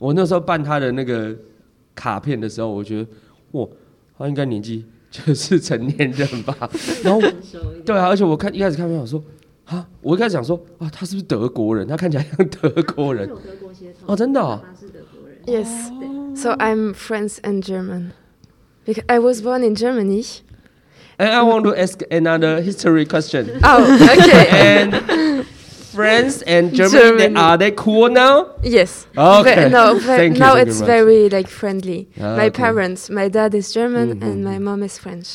我那時候辦他的那個卡片的時候，我覺得哇，他應該年紀就是成年人吧。然後對啊，而且我一開始看到我說啊，我一開始想說啊，他是不是德國人？他看起來像德國人。哦，真的哦。 Yes. So I'm French and German. Because I was born in Germany. And I want to ask another history question. Oh, okay. And France and Germany, are they cool now? Yes. Okay. Now Thank it's you very like friendly. My okay. parents, my dad is German and my mom is French.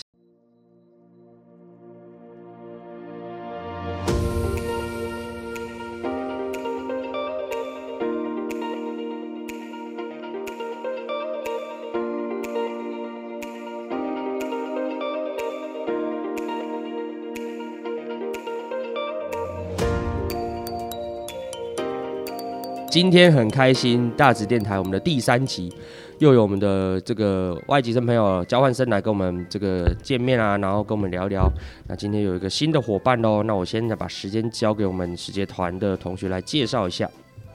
今天很開心，大直電台我們的第3集，又有我們的這個外籍生朋友交換生來跟我們這個見面啊，然後跟我們聊聊。那今天有一個新的夥伴咯，那我現在把時間交給我們實節團的同學來介紹一下。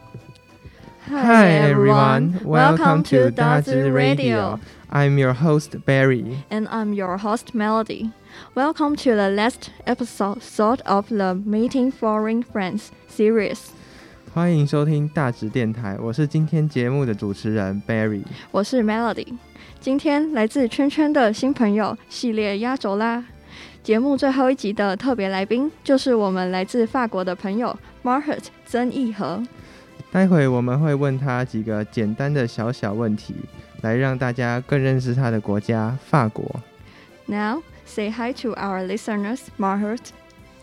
Hi everyone, welcome to 大直 Radio. I'm your host Barry. And I'm your host Melody. Welcome to the last episode of the Meeting Foreign Friends series. 歡迎收聽大直電台，我是今天節目的主持人 Barry， 我是 Melody。今天來自圈圈的新朋友系列壓軸啦！節目最後一集的特別來賓就是我們來自法國的朋友 Marhut 曾義和。 待會我們會問他幾個簡單的小問題，來讓大家更認識他的國家法國。 Now say hi to our listeners, Marhut.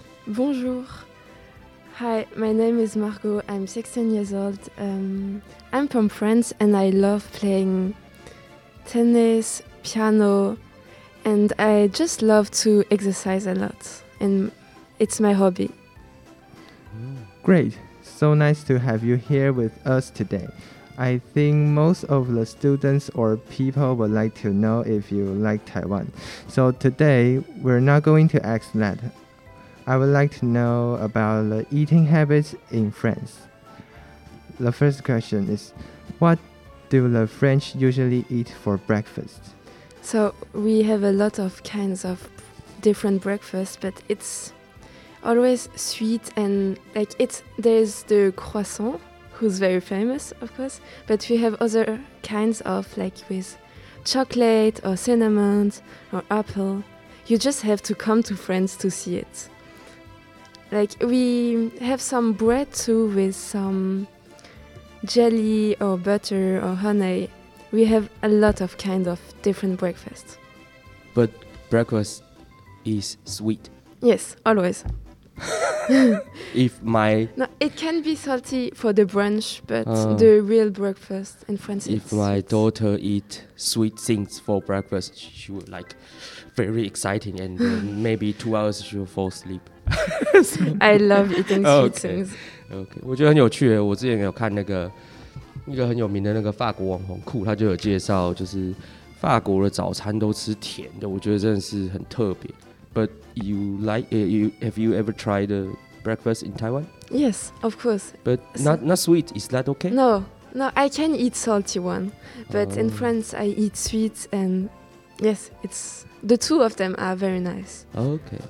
Bonjour.Hi, my name is Margot. I'm 16 years old. I'm from France and I love playing tennis, piano, and I just love to exercise a lot. And it's my hobby. Great. So nice to have you here with us today. I think most of the students or people would like to know if you like Taiwan. So today, we're not going to ask that.I would like to know about the eating habits in France. The first question is, what do the French usually eat for breakfast? So we have a lot of kinds of different breakfasts, but it's always sweet and there's the croissant, who's very famous, of course, but we have other kinds of with chocolate or cinnamon or apple. You just have to come to France to see it.Like we have some bread too with some jelly or butter or honey. We have a lot of kind of different breakfasts. But breakfast is sweet. Yes, always. No, it can be salty for the brunch, but the real breakfast in France is If my daughter eat sweet things for breakfast, she would very exciting and maybe 2 hours she will fall asleep.I love eating sweet things. Okay. 我觉得很有趣耶。我之前有看那个一個很有名的那個法國網紅酷，他就有介紹，就是法國的早餐都吃甜的，我覺得真的是很特別。But have you ever tried the breakfast in Taiwan? Yes, of course. But not sweet. Is that okay? No, I can eat salty one, but in France I eat sweet and yes, the two of them are very nice. Okay.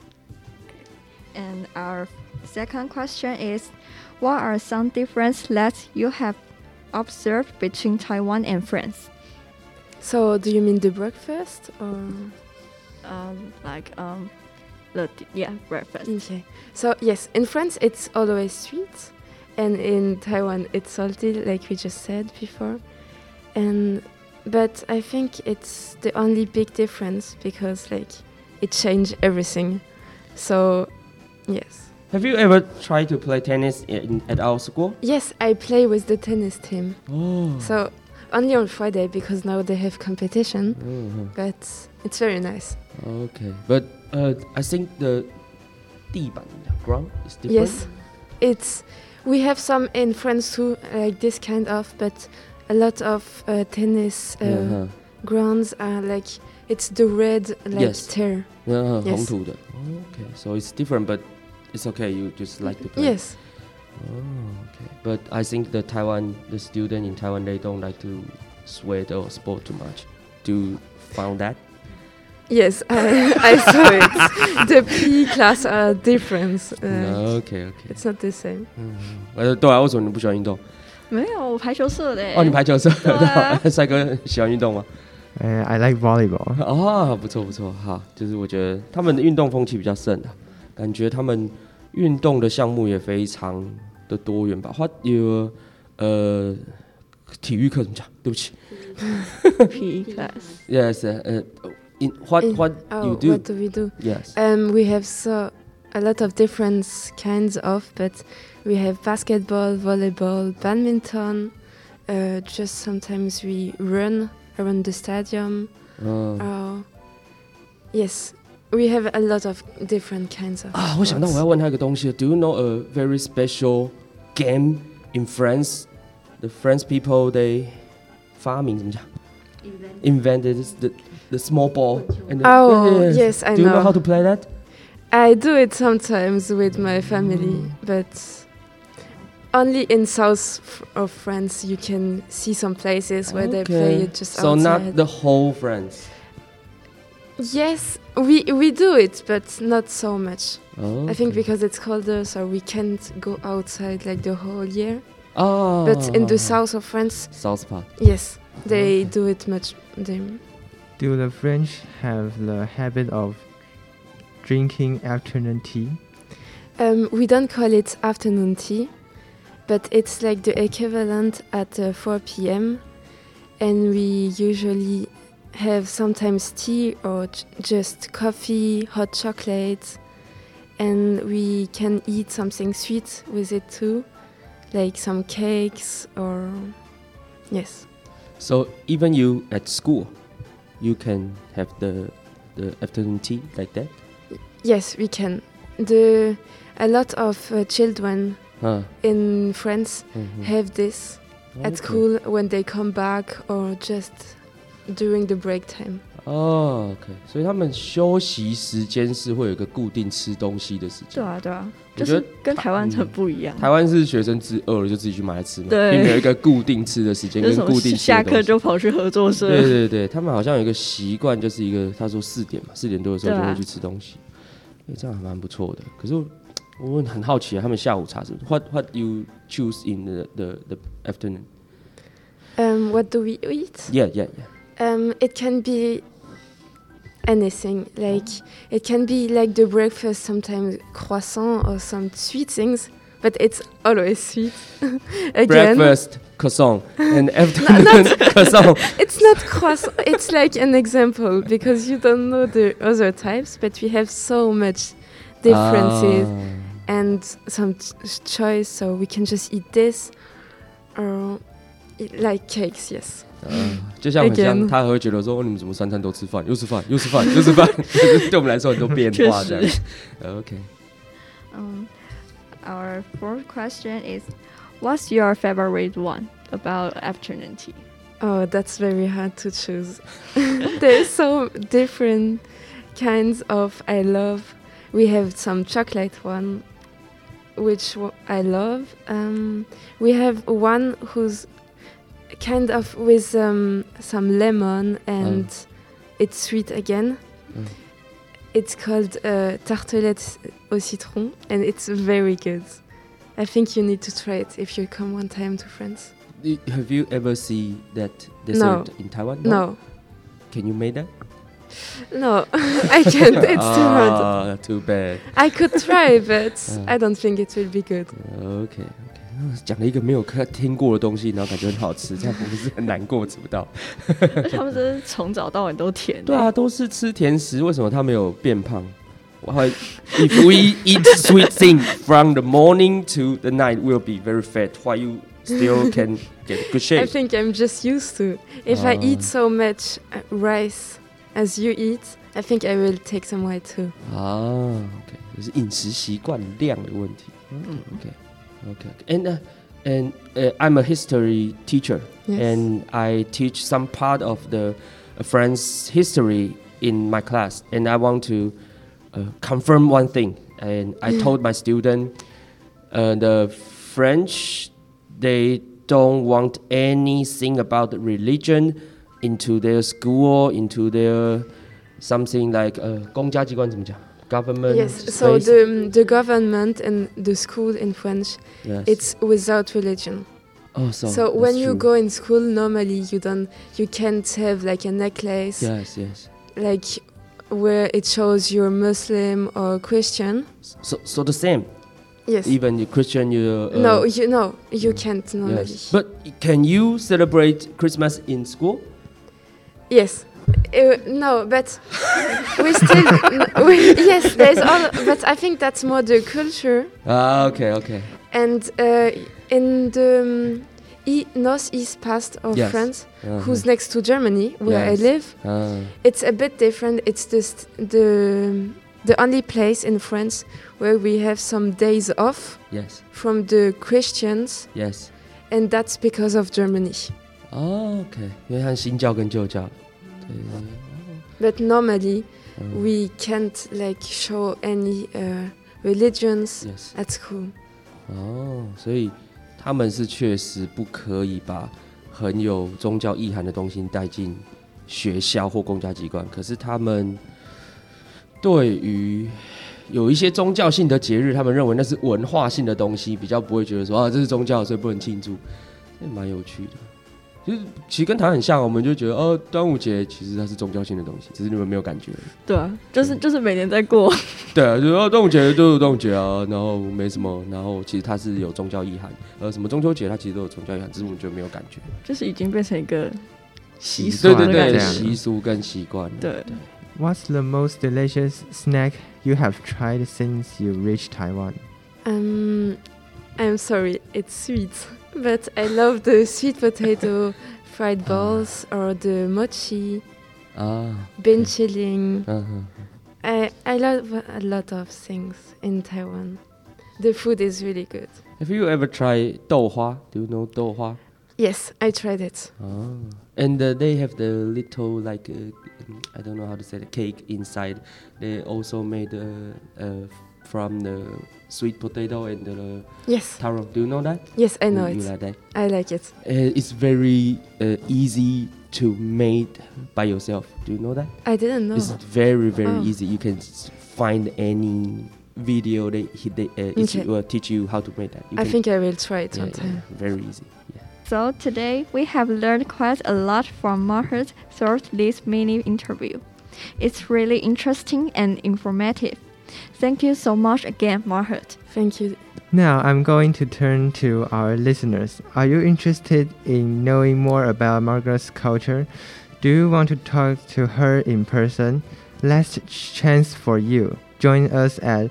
And our second question is, what are some differences that you have observed between Taiwan and France? So, do you mean the breakfast or? Breakfast. Okay. So yes, in France it's always sweet, and in Taiwan it's salty, like we just said before. But I think it's the only big difference because it changed everything. So. Yes. Have you ever tried to play tennis at our school? Yes, I play with the tennis team. Oh. So only on Friday because now they have competition. But it's very nice. Okay, but I think the 地板 ground is different. Yes, we have some in France too, like this kind of, but a lot of tennis grounds are it's the red tear. Yes. 紅土的. Okay, so it's different, but it's okay. You just like to play. Yes. Okay. But I think the student in Taiwan, they don't like to sweat or sport too much. Do you found that? Yes, I saw it. The PE class are different. Okay. It's not the same. 对啊，为什么你不喜欢运动？ 没有，我排球社的。 哦，你排球社，帅哥喜歡運動嗎 ？I like volleyball. 哦，不錯，好，就是我覺得他們的運動風氣比較盛啊，感覺他們運動的項目也非常的多元吧。What your 體育課怎麼講？對不起。 PE class. Yes. What you do? What do we do? Yes. We have a lot of different kinds of, but we have basketball, volleyball, badminton. Just sometimes we run around the stadium. Yes, we have a lot of different kinds of. 我想到我要問他一個東西。Do you know a very special game in France? The French people they 發明怎麼講？Invented the small ball. And yes, I know. Do you know how to play that? I do it sometimes with my family, but only in south of France you can see some places where they play it just outside. So not the whole France? Yes, we do it, but not so much. Okay. I think because it's colder, so we can't go outside like the whole year. But in the south of France, south part. Yes, they do it much. Do the French have the habit of drinking afternoon tea? We don't call it afternoon tea, but it's like the equivalent at 4 p.m. And we usually have sometimes tea or just coffee, hot chocolate, and we can eat something sweet with it too, like some cakes or yes. So even you at school, you can have the afternoon tea like that? Yes, we can. A lot of children in France have this at school when they come back or just during the break time. OK， 所以他們休息時間是會有一個固定吃東西的時間。 對啊，就是跟台灣很不一樣。 台灣是學生餓了就自己去買來吃嘛， 對， 並沒有一個固定吃的時間跟固定吃的東西。 下課就跑去合作社。 對，他們好像有一個習慣，就是一個他說4點多的時候就會去吃東西，這樣還蠻不錯的。可是我很好奇啊，他們下午茶是 What you choose in the afternoon? What do we eat? Yeah. It can be anything. Like it can be like the breakfast, sometimes croissant or some sweet things, but it's always sweet. Again. Breakfast croissant and afternoon croissant. It's not croissant. It's like an example because you don't know the other types, but we have so much differences and some choice. So we can just eat this or like cakes. Yes. 就像很像他会覺得說你們怎麼3餐都吃飯，又吃飯，對我們來說很多變化這樣。OK. Our fourth question is, what's your favorite one about afternoon tea? Oh, that's very hard to choose. There's so different kinds of I love. We have some chocolate one, which I love. We have one who's kind of with some lemon and it's sweet again. It's called tartelette au citron and it's very good. I think you need to try it if you come one time to France. Have you ever seen that dessert in Taiwan? No. Can you make that? No, I can't. It's too hard. Too bad. I could try, but I don't think it will be good. OK. 講了一個沒有聽過的東西，然後感覺很好吃，這樣不是很難過吃不到。 他們真是從早到晚都甜。 對啊，都是吃甜食，為什麼他沒有變胖？If we eat sweet things from the morning to the night, we'll be very fat. Why you still can get good shape? I think I'm just used to. If I eat so much rice as you eat, I think I will take some weight too. OK， 就是飲食習慣量的問題。OK. And I'm a history teacher, yes. And I teach some part of the French history in my class. And I want to confirm one thing. And I told my student, the French, they don't want anything about religion into their school, into their something like 公家机关怎么讲 government. Yes, so the government and the school in French, yes. It's without religion. Oh, so when you go in school, normally you can't have like a necklace. Yes. Like where it shows you're Muslim or Christian. So the same. Yes. Even you Christian, you. You can't normally. Yes. But can you celebrate Christmas in school? Yes. No, but we still. Yes, there's all. But I think that's more the culture. Okay. And in the northeast part of France, who's next to Germany, where I live, it's a bit different. It's just the only place in France where we have some days off from the Christians. Yes. And that's because of Germany. Oh, okay. 因为它新教跟旧教。 But normally, we can't like show any religions at school. 所以他们是确實不可以把很有宗教意涵的東西帶進學校或公家機關。可是他們對於有一些宗教性的節日，他們認為那是文化性的東西，比較不會覺得說這是宗教，所以不能慶祝。這蠻有趣的。就是其實跟台灣很像，我們就覺得端午節其實它是宗教性的東西，只是你們沒有感覺。 對啊，就是每年在過。 對啊，就是端午節就是端午節啊，然後沒什麼，然後其實它是有宗教意涵。什麼中秋節它其實都有宗教意涵，只是我們覺得沒有感覺。 就是已經變成一個習俗， 對，習俗跟習慣。對。 What's the most delicious snack you have tried since you reached Taiwan? I'm sorry, it's sweet. But I love the sweet potato fried balls or the mochi, bean chilling. I love a lot of things in Taiwan. The food is really good. Have you ever tried 豆花? Do you know 豆花? Yes, I tried it. And they have the little like I don't know how to say the cake inside. They also made from the sweet potato and the taro. Do you know that? Yes, I know it. You like that? I like it. It's very easy to make by yourself. Do you know that? I didn't know. It's very easy. You can find any video will teach you how to make that. I think I will try it sometime. Very easy. So today we have learned quite a lot from Margaret through this mini interview. It's really interesting and informative. Thank you so much again, Margaret. Thank you. Now I'm going to turn to our listeners. Are you interested in knowing more about Margaret's culture? Do you want to talk to her in person? Last chance for you. Join us at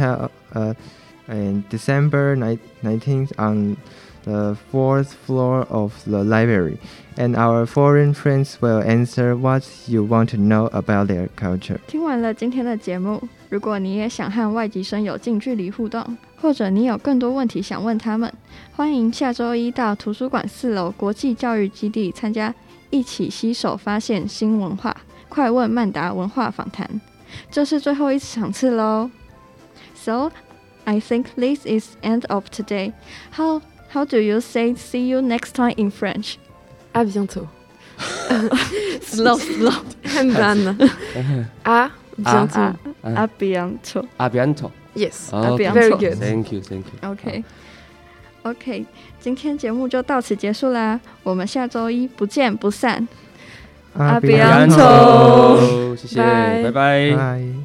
December 19th on the 4th floor of the library, and our foreign friends will answer what you want to know about their culture. 聽完了今天的節目，如果你也想和外籍生有近距離互動，或者你有更多問題想問他們，歡迎下周一到圖書館4樓國際教育基地參加一起攜手發現新文化快問慢答文化訪談。這是最後一場次咯。So, I think this is end of today. How do you say see you next time in French? À bientôt. slow. I'm done. À bientôt. À bientôt. À bientôt. Yes. Okay. Very good. Thank you. OK. 今天節目就到此結束啦，我們下周一不見不散。 À bientôt. 謝謝，拜拜。